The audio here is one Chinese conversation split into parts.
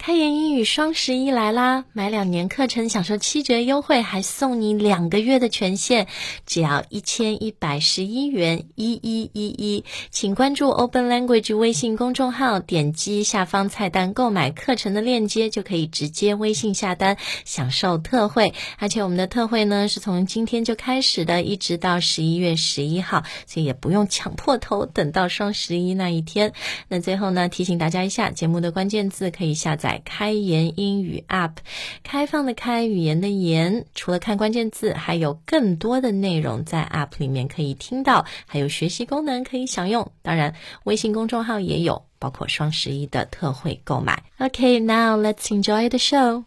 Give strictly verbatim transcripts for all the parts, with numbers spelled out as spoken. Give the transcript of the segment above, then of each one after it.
开言英语双十一来啦！买两年课程享受七折优惠，还送你两个月的权限，只要一千一百十一元，一一一一。请关注 Open Language 微信公众号，点击下方菜单购买课程的链接，就可以直接微信下单，享受特惠。而且我们的特惠呢，是从今天就开始的，一直到十一月十一号，所以也不用抢破头等到双十一那一天。那最后呢，提醒大家一下，节目的关键字可以下载开言英语 App， 开放的开，语言的言，除了看关键字，还有更多的内容在 App 里面可以听到，还有学习功能可以享用。当然，微信公众号也有，包括双十一的特惠购买。Okay, now let's enjoy the show.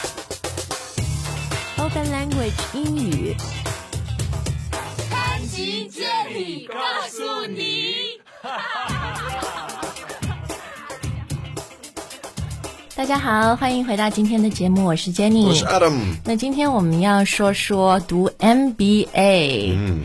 Open Language 英语， 潘吉接力告诉你。 大家好，欢迎回到今天的节目，我是 Jenny， 我是 Adam。 那今天我们要说说读 M B A， 嗯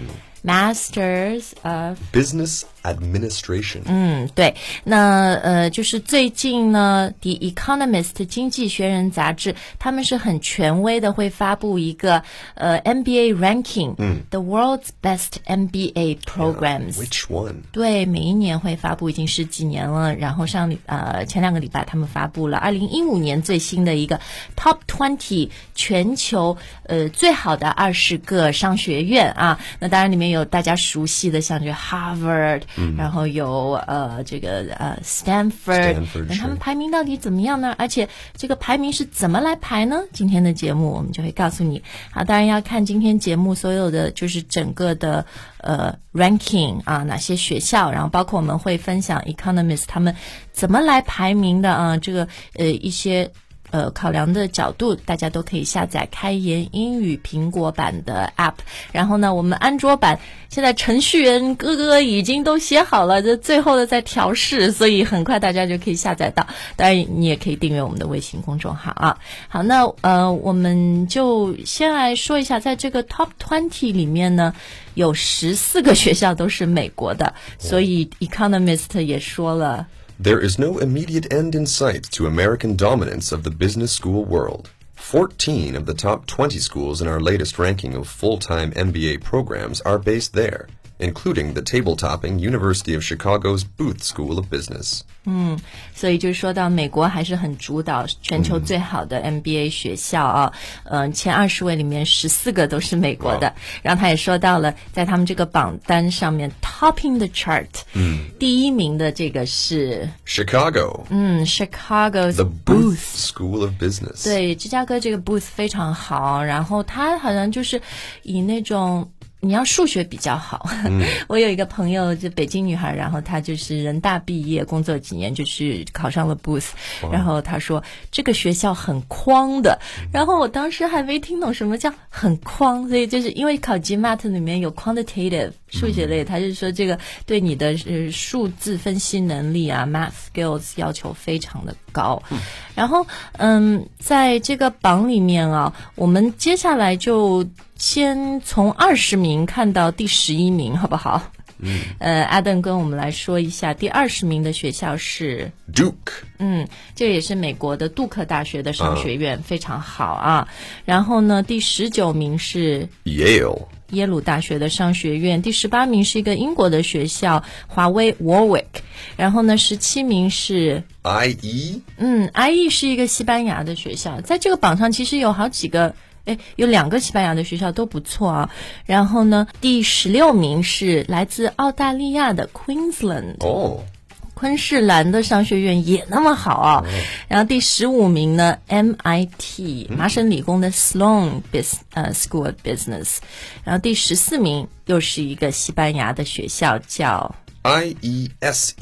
，Masters of Business Administration。 嗯，对，那呃，就是最近呢 ，The Economist 经济学人杂志，他们是很权威的，会发布一个呃 M B A ranking， 嗯 ，The world's best M B A programs。 Yeah, which one？ 对，每一年会发布，已经十几年了。然后上呃前两个礼拜他们发布了二零一五年最新的一个 Top 二十全球呃最好的二十个商学院啊。那当然里面有大家熟悉的，像这 Harvard。嗯、然后有呃这个呃 Stanford， 那他们排名到底怎么样呢？而且这个排名是怎么来排呢？今天的节目我们就会告诉你。好，当然要看今天节目所有的就是整个的呃 ranking 啊，哪些学校，然后包括我们会分享 Economist 他们怎么来排名的啊，这个呃一些。呃，考量的角度，大家都可以下载开言英语苹果版的 App。然后呢，我们安卓版现在程序员哥哥已经都写好了，这最后的在调试，所以很快大家就可以下载到。当然，你也可以订阅我们的微信公众号啊。好，那呃，我们就先来说一下，在这个 Top 二十里面呢，有十四个学校都是美国的，所以 Economist 也说了。 There is no immediate end in sight to American dominance of the business school world. Fourteen of the top twenty schools in our latest ranking of full-time M B A programs are based there, including the table-topping University of Chicago's Booth School of Business. 嗯，所以就说到美国还是很主导全球最好的 M B A 学校啊，嗯、呃，前二十位里面十四个都是美国的。Wow. 然后他也说到了，在他们这个榜单上面 topping the chart， 嗯，第一名的这个是 Chicago， 嗯 ，Chicago's The Booth School of Business。 对，芝加哥这个 Booth 非常好，然后他好像就是以那种。你要数学比较好、嗯、我有一个朋友就北京女孩，然后她就是人大毕业工作几年就去考上了 Booth， 然后她说这个学校很框的，然后我当时还没听懂什么叫很框，所以就是因为考 GMAT 里面有 quantitative 数学类，他就说这个对你的呃数字分析能力啊 math skills 要求非常的高、嗯、然后嗯在这个榜里面啊，我们接下来就先从二十名看到第十一名，好不好？嗯，呃 ，Adam 跟我们来说一下，第二十名的学校是 Duke， 嗯，这也是美国的杜克大学的商学院， uh, 非常好啊。然后呢，第十九名是 Yale， 耶鲁大学的商学院，第十八名是一个英国的学校，华威 Warwick。然后呢，十七名是 I E， 嗯 ，I E 是一个西班牙的学校，在这个榜上其实有好几个。哎，有两个西班牙的学校都不错啊。然后呢，第十六名是来自澳大利亚的 Queensland， 哦， 昆士兰的商学院也那么好啊。哦、然后第十五名呢 ，M I T、嗯、麻省理工的 Sloan Bus 呃 School of Business。然后第十四名又是一个西班牙的学校叫 I E S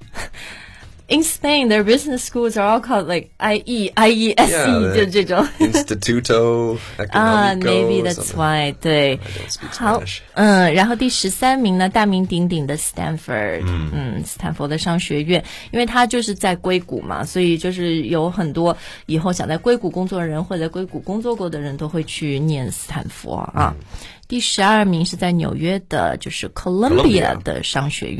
E。In Spain, their business schools are all called like I E, I E S E, yeah, 就这种 Instituto Económico 啊、uh, maybe that's why 对，好，嗯，然后第十三名呢，大名鼎鼎的 Stanford， 嗯, 嗯，斯坦福的商学院，因为它就是在硅谷嘛，所以就是有很多以后想在硅谷工作的人或者在硅谷工作过的人都会去念斯坦福啊。嗯、第十二名是在纽约的，就是 Columbia 的商学院。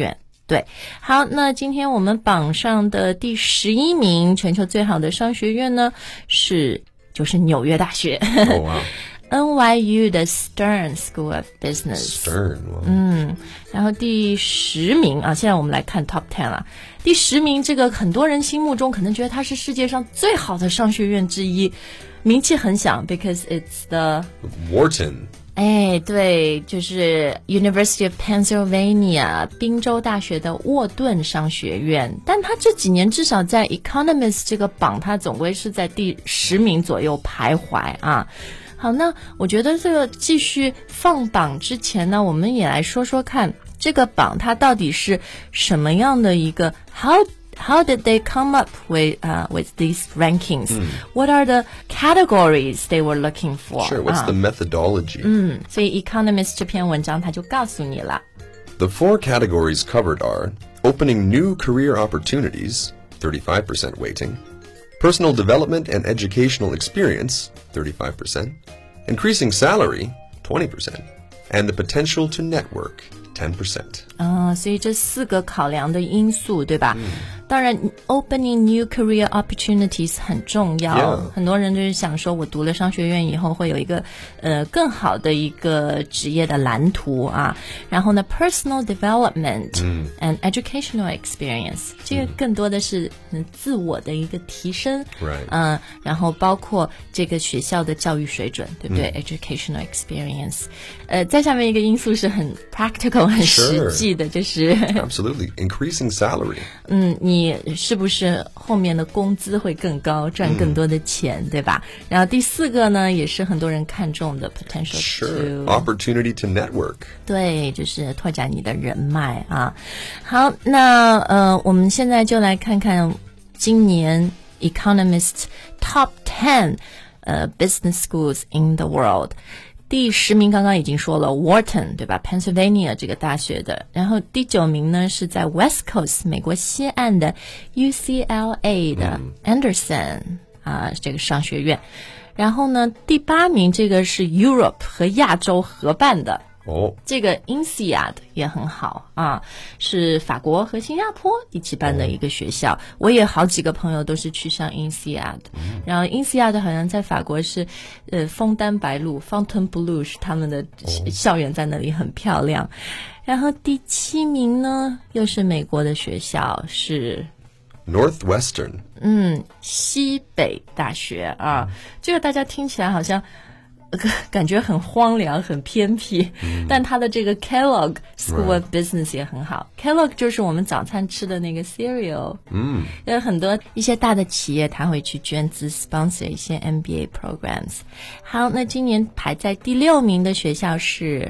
对，好，那今天我们榜上的第十一名全球最好的商学院呢，是就是纽约大学。 Oh, wow. N Y U 的 Stern School of Business。 Stern, wow. 嗯，然后第十名啊，现在我们来看 Top Ten 了。第十名，这个很多人心目中可能觉得它是世界上最好的商学院之一，名气很响 ，because it's the Wharton。 哎，对，就是 University of Pennsylvania 宾州大学的沃顿商学院，但它这几年至少在 Economist 这个榜，它总归是在第十名左右徘徊啊。好，那我觉得这个继续放榜之前呢，我们也来说说看这个榜它到底是什么样的一个 how How did they come up with uh, with these rankings? Mm. What are the categories they were looking for? Sure, what's、uh, the methodology? 嗯，所以 Economist 这篇文章它就告诉你了。 The four categories covered are opening new career opportunities, thirty-five percent weighting, personal development and educational experience, thirty-five percent, increasing salary, twenty percent, and the potential to network, ten percent. 啊、uh, 所以这四个考量的因素，对吧？嗯，当然 opening new career opportunities 很重要。 Yeah. 很多人就是想说，我读了商学院以后会有一个呃更好的一个职业的蓝图啊。然后呢 personal development、嗯、and educational experience 这个更多的是、嗯、自我的一个提升。 Right. 嗯，然后包括这个学校的教育水准，对不对、嗯、educational experience。呃，再下面一个因素是很 practical 很实际的，就是 Absolutely. Increasing salary. 嗯，你是不是后面的工资会更高，赚更多的钱、嗯、对吧？然后第四个呢，也是很多人看重的 potential Sure. to Opportunity to network. 对，就是拓展你的人脉啊。好，那呃，我们现在就来看看今年 Economist Top ten 呃 Business Schools in the World。第十名刚刚已经说了 Wharton 对吧 Pennsylvania 这个大学的，然后第九名呢是在 West Coast 美国西岸的 U C L A 的 Anderson、嗯、啊这个商学院，然后呢第八名这个是 Europe 和亚洲合办的哦， 这个 I N S E A D 也很好啊，是法国和新加坡一起办的一个学校、哦、我也好几个朋友都是去上 I N S E A D、嗯、然后 I N S E A D 好像在法国是呃枫丹白露 Fontainebleau 是他们的校园在那里很漂亮、哦、然后第七名呢又是美国的学校是 Northwestern 嗯西北大学啊、嗯、这个大家听起来好像感觉很荒凉很偏僻、嗯、但它的这个 Kellogg School of Business 也很好、right. Kellogg 就是我们早餐吃的那个 cereal 嗯，有很多一些大的企业它会去捐资 sponsor 一些 M B A programs。 好，那今年排在第六名的学校是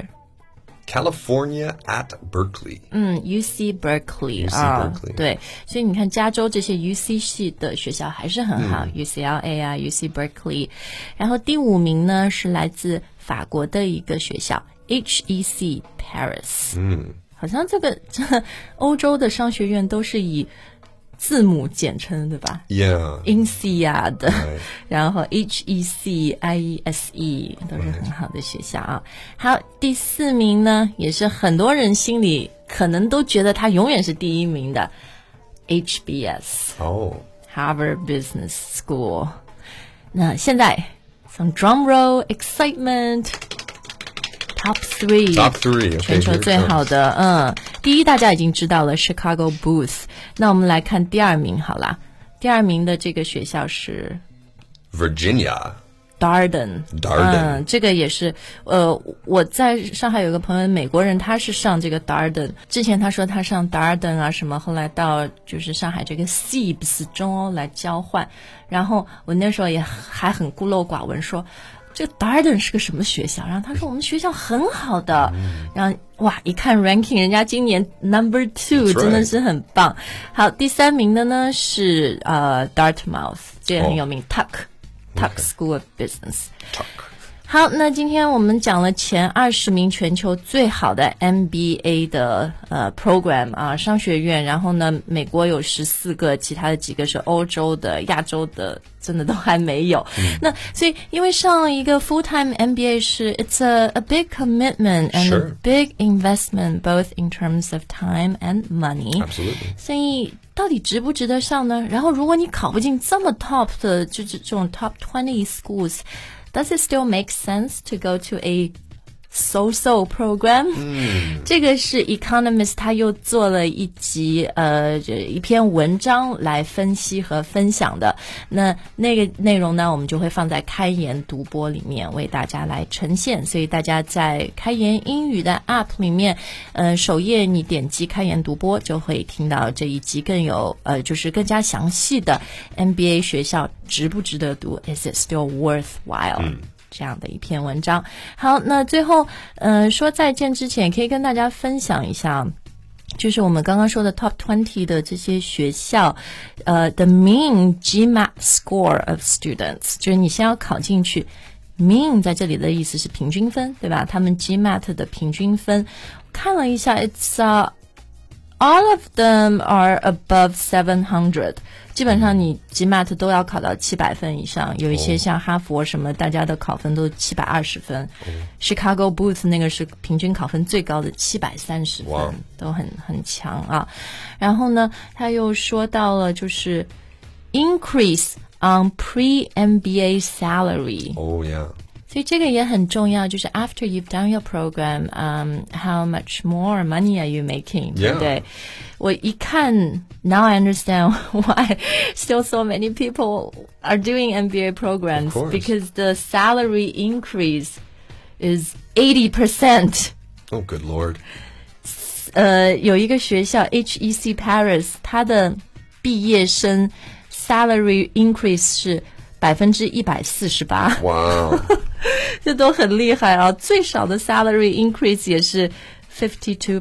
California at Berkeley 嗯 U C Berkeley U C 啊、 Berkeley 对，所以你看加州这些 U C 系的学校还是很好、嗯、U C L A 啊 U C Berkeley。 然后第五名呢是来自法国的一个学校 H E C Paris。 嗯，好像这个这欧洲的商学院都是以字母简称对吧 Yeah I N S E A D、right. 然后 H E C I E S E 都是很好的学校啊。好，第四名呢也是很多人心里可能都觉得他永远是第一名的 H B S 哦、oh. Harvard Business School。 那现在 some drum roll excitement Top three Top three、okay, 全球最好的嗯，第一大家已经知道了 Chicago Booth。 那我们来看第二名好啦，第二名的这个学校是 Virginia Darden Darden、 嗯、这个也是呃，我在上海有个朋友美国人，他是上这个 Darden， 之前他说他上 Darden 啊什么，后来到就是上海这个 S I B S 中欧来交换，然后我那时候也还很孤陋寡闻说这个 Darden 是个什么学校，然后他说我们学校很好的、嗯、然后哇一看 ranking 人家今年 number two 真的是很棒。好，第三名的呢是呃 Dartmouth， 这也很有名、oh. Tuck Tuck、okay. School of Business。 Tuck 好，那今天我们讲了前二十名全球最好的 M B A 的呃 program 啊商学院，然后呢，美国有十四个，其他的几个是欧洲的、亚洲的，真的都还没有。嗯、那所以因为上一个 full time M B A 是 it's a a big commitment and Sure. a big investment both in terms of time and money. Absolutely. 所以到底值不值得上呢？然后如果你考不进这么 top 的，就是这种 top twenty schools。Does it still make sense to go to a so-so program？ 嗯，这个是 Economist 他又做了一集呃一篇文章来分析和分享的。那那个内容呢，我们就会放在开言读播里面为大家来呈现。所以大家在开言英语的 App 里面，呃，首页你点击开言读播，就会听到这一集更有呃就是更加详细的 M B A 学校值不值得读 ？Is it still worthwhile？嗯，这样的一篇文章。好，那最后呃说再见之前，可以跟大家分享一下，就是我们刚刚说的 top twenty 的这些学校，呃 the mean GMAT score of students， 就是你先要考进去。mean 在这里的意思是平均分，对吧？他们 GMAT 的平均分看了一下 ，it's uh, all of them are above seven hundred。基本上你 GMAT 都要考到七百分以上，有一些像哈佛什么，大家的考分都七百二十分。Chicago Booth 那个是平均考分最高的七百三十分， wow. 都很很强啊。然后呢，他又说到了就是 increase on pre-M B A salary。 Oh yeah。 所以这个也很重要，就是 after you've done your program, um, how much more money are you making? Yeah. 对不对？我一看 now I understand why still so many people are doing M B A programs because the salary increase is eighty percent. Oh, good Lord. 呃，有一个学校 H E C Paris， 它的毕业生 salary increase 是百分之一百四十八。 哇， 这都很厉害啊！最少的 salary increase 也是 fifty two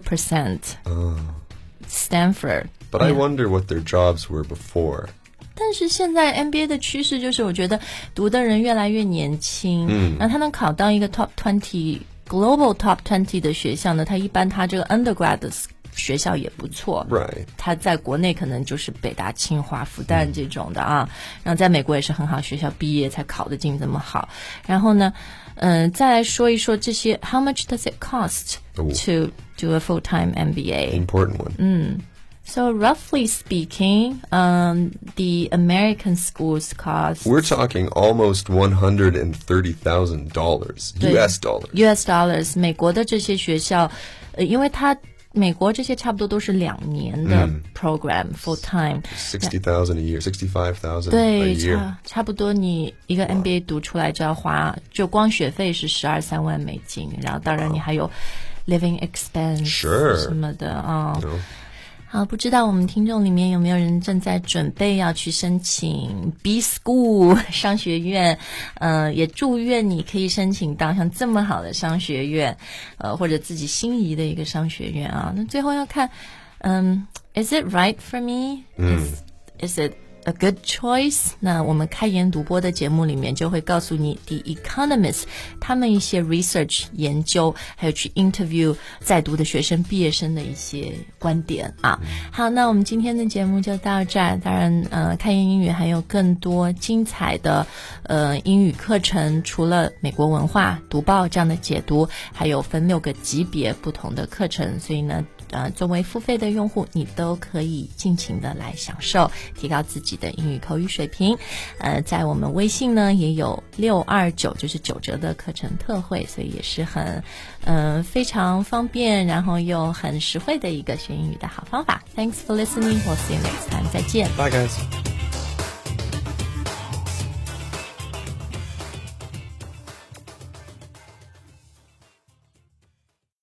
percent。Stanford。But I wonder what their jobs were before. 但是现在 M B A 的趋势就是，我觉得读的人越来越年轻，嗯，然后他能考到一个 top twenty、global top twenty 的学校呢，他一般他这个 undergrad 的学校也不错， right. 他在国内可能就是北大、清华、复旦这种的啊，然后在美国也是很好学校毕业才考得进这么好。然后呢，嗯、呃，再来说一说这些 ，How much does it cost to do a full-time M B A? Important one. 嗯。So roughly speaking, um, the American schools cost... We're talking almost one hundred thirty thousand dollars, U S dollars. U S dollars. 美国的这些学校，呃，因为它美国这些差不多都是两年的 program、嗯、full time. sixty thousand a year, sixty-five thousand a year. 对，差差不多你一个 M B A 读出来就要花，就光学费是十二三万美金，然后当然你还有 living expense 什么的啊。 Sure. No. 好，不知道我们听众里面有没有人正在准备要去申请 B School 商学院，呃，也祝愿你可以申请到像这么好的商学院，呃，或者自己心仪的一个商学院啊。那最后要看，嗯 ，Is it right for me? Is, is it a good choice? 那我们开言读播的节目里面就会告诉你 The Economist 他们一些 research 研究，还有去 interview 在读的学生、毕业生的一些观点啊。好，那我们今天的节目就到这儿。当然，呃，开言英语还有更多精彩的呃英语课程，除了美国文化、读报这样的解读，还有分六个级别不同的课程。所以呢，呃，作为付费的用户，你都可以尽情的来享受，提高自己的英语口语水平。呃，在我们微信呢也有六二九，就是九折的课程特惠，所以也是很，呃，非常方便，然后又很实惠的一个学英语的好方法。Thanks for listening. We'll see you next time. 再见。 Bye, guys.